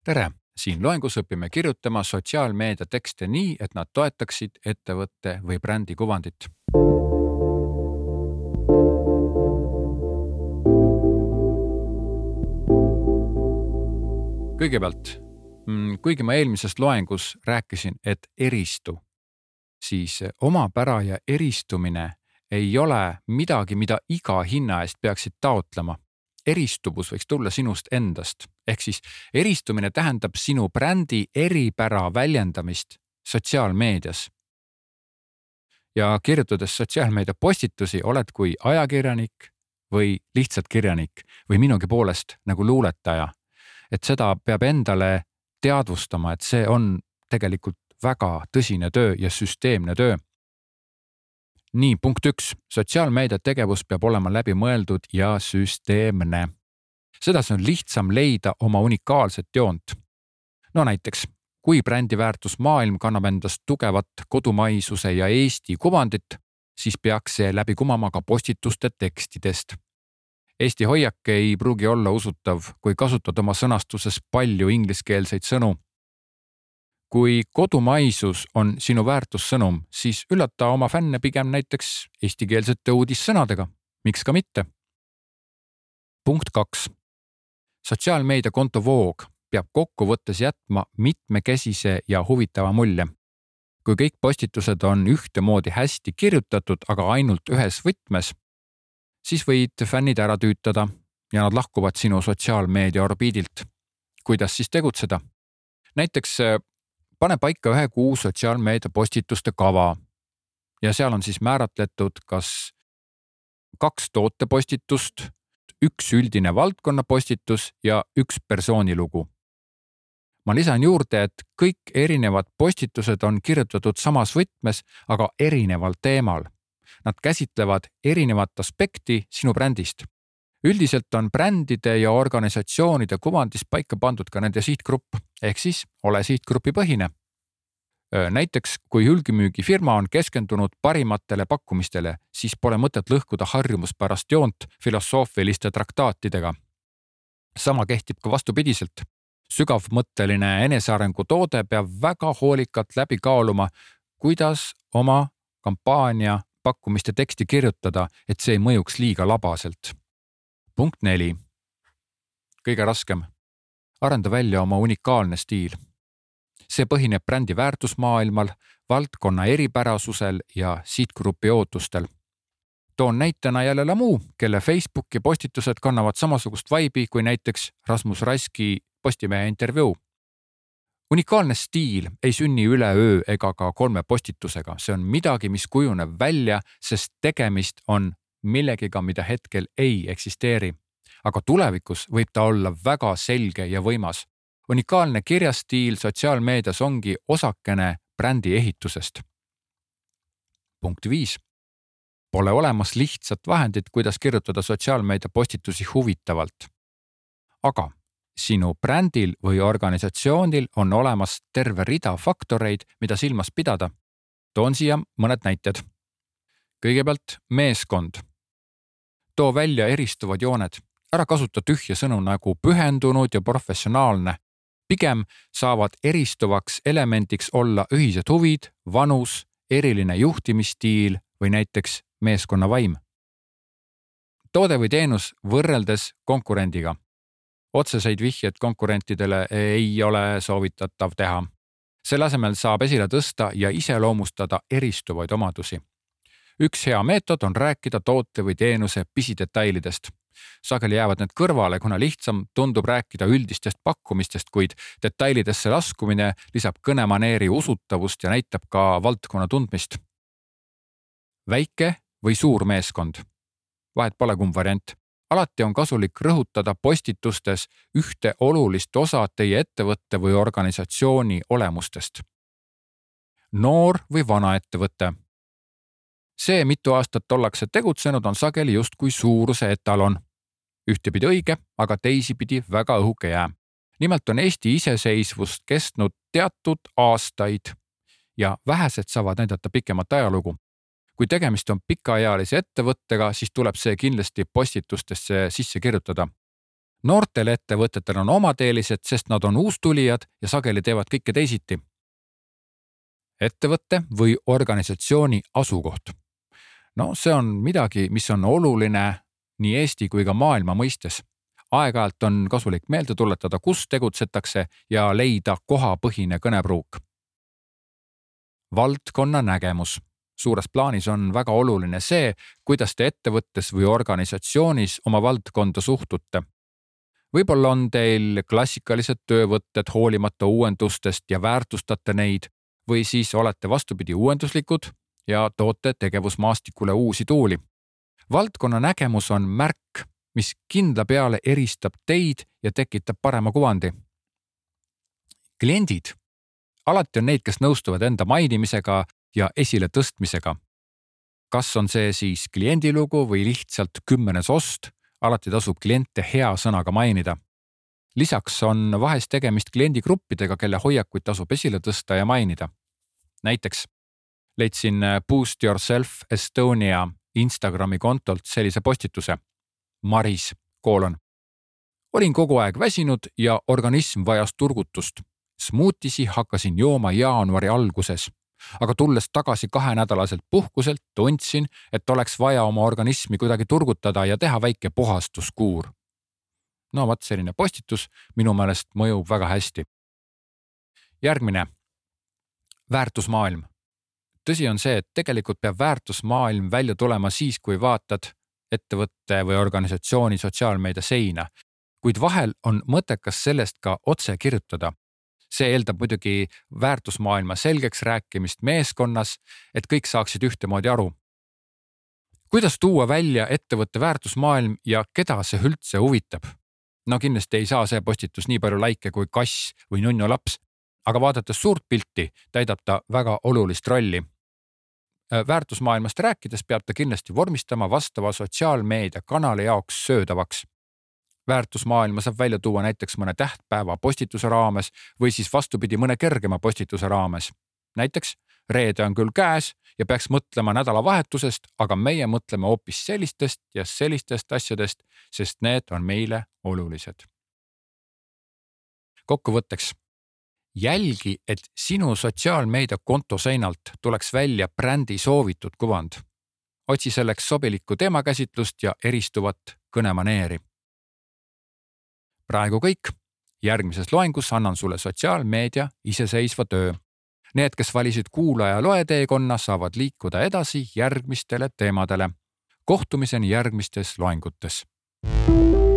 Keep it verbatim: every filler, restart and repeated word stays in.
tere! Siin loengus õpime kirjutama sotsiaalmeedia tekste nii, et nad toetaksid ettevõtte või brändi kuvandit. Kõigepealt, kuigi ma eelmises loengus rääkisin, et eristu, siis omapära ja eristumine ei ole midagi, mida iga hinna eest peaksid taotlema. Eristuvus võiks tulla sinust endast. Ehk siis eristumine tähendab sinu brändi eripära väljendamist sotsiaalmeedias. Ja kirjutades sotsiaalmeedia postitusi oled kui ajakirjanik või lihtsalt kirjanik või minugi poolest nagu luuletaja. Et seda peab endale teadvustama, et see on tegelikult väga tõsine töö ja süsteemne töö. Nii, punkt üks. Sotsiaalmeedia tegevus peab olema läbi mõeldud ja süsteemne. Sedasi on lihtsam leida oma unikaalset joont. No näiteks, kui brändi väärtus maailm kannab endast tugevat kodumaisuse ja Eesti kuvandit, siis peaks see läbi kumama ka postituste tekstidest. Eesti hoiak ei pruugi olla usutav, kui kasutad oma sõnastuses palju ingliskeelseid sõnu. Kui kodumaisus on sinu väärtussõnum, siis üllata oma fänne pigem näiteks eestikeelsete uudissõnadega. Miks ka mitte? Punkt kaks. Sotsiaalmeedia konto voog peab kokkuvõttes jätma mitmekesise ja huvitava mulje. Kui kõik postitused on ühtemoodi hästi kirjutatud, aga ainult ühes võtmes, siis võid fännid ära tüütada ja nad lahkuvad sinu sotsiaalmeedia orbiidilt. Kuidas siis tegutseda? Näiteks pane paika ühe kuu sotsiaalmeedia postituste kava ja seal on siis määratletud kas kaks tootepostitust, üks üldine valdkonna postitus ja üks persoonilugu. Ma lisan juurde, et kõik erinevad postitused on kirjutatud samas võtmes, aga erineval teemal. Nad käsitlevad erinevat aspekti sinu brändist. Üldiselt on brändide ja organisatsioonide kuvandis paika pandud ka nende sihtgrupp, ehk siis ole sihtgrupi põhine. Näiteks, kui hulgimüügifirma on keskendunud parimatele pakkumistele, siis pole mõtet lõhkuda harjumuspärast joont filosoofiliste traktaatidega. Sama kehtib ka vastupidiselt. Sügavmõtteline enesearengu toode peab väga hoolikalt läbi kaaluma, kuidas oma kampaania pakkumiste teksti kirjutada, et see ei mõjuks liiga labaselt. Punkt neli. Kõige raskem. Arenda välja oma unikaalne stiil. See põhineb brändi väärtusmaailmal, valdkonna eripärasusel ja sihtgrupi ootustel. Toon näitena jälle Lamu, kelle Facebooki postitused kannavad samasugust vaibi kui näiteks Rasmus Raski Postimehe intervjuu. Unikaalne stiil ei sünni üle öö ega ka kolme postitusega. See on midagi, mis kujuneb välja, sest tegemist on millegiga, mida hetkel ei eksisteeri. Aga tulevikus võib ta olla väga selge ja võimas. Unikaalne kirjastiil sotsiaalmeedias ongi osakene brändi ehitusest. Punkt viis. Pole olemas lihtsat vahendit, kuidas kirjutada sotsiaalmeedia postitusi huvitavalt. Aga sinu brändil või organisatsioonil on olemas terve rida faktoreid, mida silmas pidada. Toon siia mõned näited. Kõigepealt meeskond. Too välja eristuvad jooned. Ära kasuta tühja sõnu nagu pühendunud ja professionaalne. Pigem saavad eristuvaks elemendiks olla ühised huvid, vanus, eriline juhtimisstiil või näiteks meeskonna vaim. Toode või teenus võrreldes konkurendiga. Otseseid vihjed konkurentidele ei ole soovitatav teha. Selle asemel saab esile tõsta ja iseloomustada eristuvaid omadusi. Üks hea meetod on rääkida toote või teenuse pisidetailidest. Sageli jäävad need kõrvale, kuna lihtsam tundub rääkida üldistest pakkumistest, kuid detailidesse laskumine lisab kõnemaneeri usutavust ja näitab ka valdkonna tundmist. Väike või suur meeskond. Vahet pole kumb variant. Alati on kasulik rõhutada postitustes ühte olulist osa teie ettevõtte või organisatsiooni olemustest. Noor või vana ettevõte. See, mitu aastat ollakse tegutsenud, on sageli just kui suuruse etalon. Ühtepidi õige, aga teisipidi väga õhuke jää. Nimelt on Eesti iseseisvust kestnud teatud aastaid ja vähesed saavad näidata pikemat ajalugu. Kui tegemist on pikaajalise ettevõttega, siis tuleb see kindlasti postitustesse sisse kirjutada. noortel ettevõtetel on omad eelised, sest nad on uustulijad ja sageli teevad kõike teisiti. Ettevõtte või organisatsiooni asukoht. No see on midagi, mis on oluline nii Eesti kui ka maailma mõistes. Aeg-ajalt on kasulik meelde tuletada, kus tegutsetakse ja leida kohapõhine kõnepruuk. Valdkonna nägemus. Suures plaanis on väga oluline see, kuidas te ettevõttes või organisatsioonis oma valdkonda suhtute. Võib-olla on teil klassikalised töövõtted hoolimata uuendustest ja väärtustate neid või siis olete vastupidi uuenduslikud ja toote tegevusmaastikule uusi tuuli. Valdkonna nägemus on märk, mis kindla peale eristab teid ja tekitab parema kuvandi. Kliendid. Alati on neid, kes nõustuvad enda mainimisega ja esile tõstmisega. Kas on see siis kliendilugu või lihtsalt kümmenes ost, alati tasub kliente hea sõnaga mainida. Lisaks on vahest tegemist kliendigruppidega, kelle hoiakuid tasub esile tõsta ja mainida. Näiteks leidsin Boost Yourself Estonia Instagrami kontolt sellise postituse. Maris, koolon. Olin kogu aeg väsinud ja organism vajas turgutust. Smootisi hakkasin jooma jaanuari alguses, aga tulles tagasi kahenädalaselt puhkuselt, tundsin, et oleks vaja oma organismi kuidagi turgutada ja teha väike puhastuskuur. No vaat selline postitus minu meelest mõjub väga hästi. Järgmine. Väärtusmaailm. Tõsi on see, et tegelikult peab väärtusmaailm välja tulema siis, kui vaatad ettevõtte või organisatsiooni sotsiaalmeedia seina, kuid vahel on mõttekas sellest ka otse kirjutada. See eeldab muidugi väärtusmaailma selgeks rääkimist meeskonnas, et kõik saaksid ühtemoodi aru. Kuidas tuua välja ettevõtte väärtusmaailm ja keda see üldse huvitab? No kindlasti ei saa see postitus nii palju laike kui kass või nunnu laps, aga vaadates suurt pilti täidab ta väga olulist rolli. Väärtusmaailmast rääkides peab ta kindlasti vormistama vastava sotsiaalmeedia kanali jaoks söödavaks. Väärtusmaailma saab välja tuua näiteks mõne tähtpäeva postituse raames või siis vastupidi mõne kergema postituse raames. Näiteks reede on küll käes ja peaks mõtlema nädalavahetusest, aga meie mõtleme hoopis sellistest ja sellistest asjadest, sest need on meile olulised. Kokkuvõtteks. Jälgi, et sinu sotsiaalmeedia konto seinalt tuleks välja brändi soovitud kuvand. Otsi selleks sobilikku teemakäsitlust ja eristuvat kõnemaneeri. Praegu kõik. Järgmises loengus annan sulle sotsiaalmeedia iseseisva töö. Need, kes valisid kuulaja loeteekonna, saavad liikuda edasi järgmistele teemadele. Kohtumiseni järgmistes loengutes.